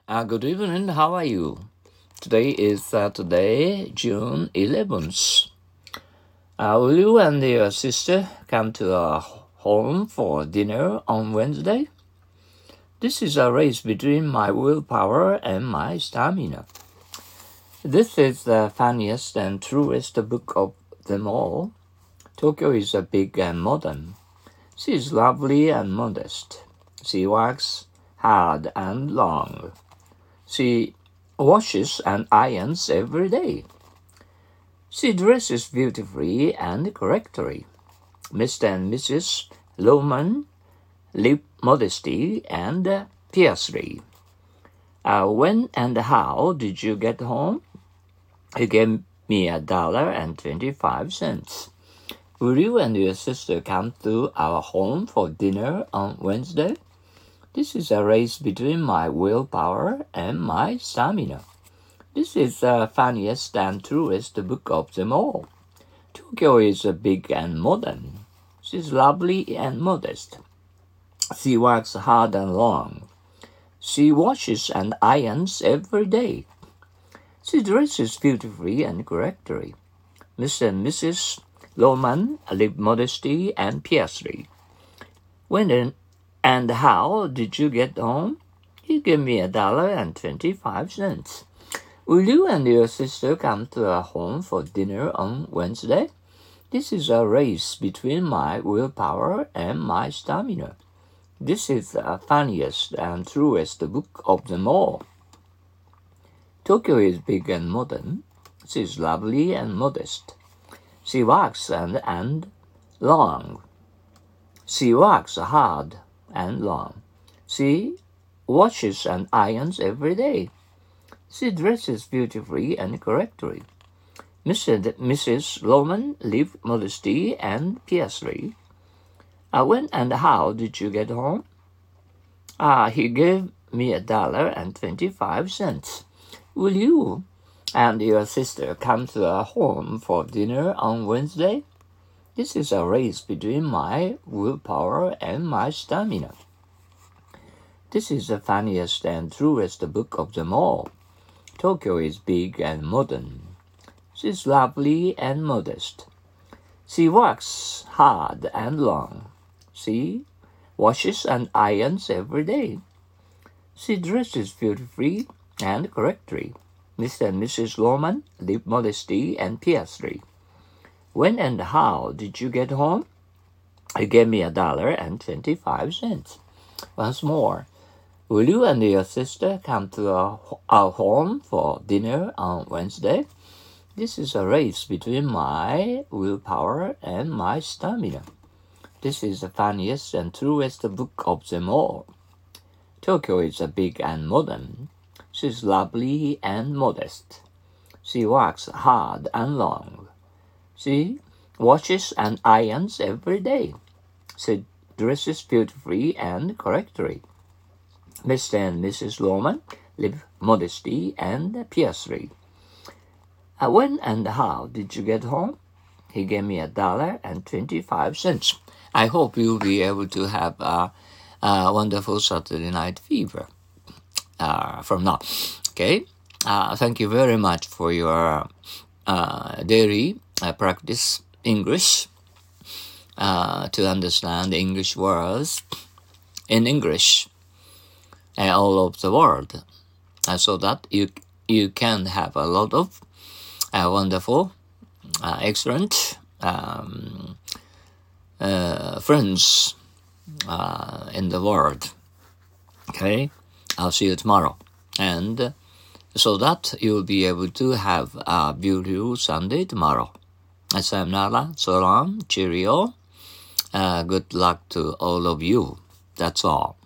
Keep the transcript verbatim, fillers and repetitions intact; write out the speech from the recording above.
Uh, good evening. How are you? Today is Saturday, June eleventh. Uh, will you and your sister come to our home for dinner on Wednesday? This is a race between my willpower and my stamina. This is the funniest and truest book of them all. Tokyo is a big and modern. She is lovely and modest. She works hard and long. She washes and irons every day. She dresses beautifully and correctly. Mister and Missus Lohman live modestly and fiercely. Uh, when and how did you get home? You gave me a dollar and twenty-five cents. Will you and your sister come to our home for dinner on Wednesday? This is a race between my willpower and my stamina. This is the funniest and truest book of them all. Tokyo is big and modern. She's lovely and modest. She works hard and long. She washes and irons every day. She dresses beautifully and correctly. Mister and Missus Lohman live modestly and fiercely. When and how did you get home? You gave me a dollar and twenty-five cents. Will you and your sister come to our home for dinner on Wednesday? This is a race between my willpower and my stamina. This is the funniest and truest book of them all. Tokyo is big and modern. She is lovely and modest. She works and, and long. She works hard and long. She washes and irons every day. She dresses beautifully and correctly. Mister and Missus Lohman live modestly and fiercely. Uh, when and how did you get home? Ah, uh, he gave me a dollar and twenty-five cents. Will you and your sister come to our home for dinner on Wednesday? This is a race between my willpower and my stamina. This is the funniest and truest book of them all. Tokyo is big and modern. She's lovely and modest. She works hard and long. She washes and irons every day. She dresses beautifully and correctly. Mister and Missus Lohman live modestly and fiercely. When and how did you get home? You gave me a dollar and twenty-five cents. Once more, will you and your sister come to our, our home for dinner on Wednesday? This is a race between my willpower and my stamina. This is the funniest and truest book of them all. Tokyo is big and modern. She's lovely and modest. She works hard and long. She washes and irons every day. She dresses beautifully and correctly. Mister and Missus Lohman live modestly and fiercely. Uh, when and how did you get home? He gave me a dollar and twenty-five cents. I hope you'll be able to have a, a wonderful Saturday night fever uh, from now. Okay? Uh, thank you very much for your uh, daily uh, practice English uh, to understand English words in English uh, all over the world, uh, so that you you can have a lot of uh, wonderful, uh, excellent um, uh, friends uh, in the world. Okay, I'll see you tomorrow, and so that you'll be able to have a beautiful Sunday tomorrow. Sayonara, so long, cheerio. Uh, good luck to all of you. That's all.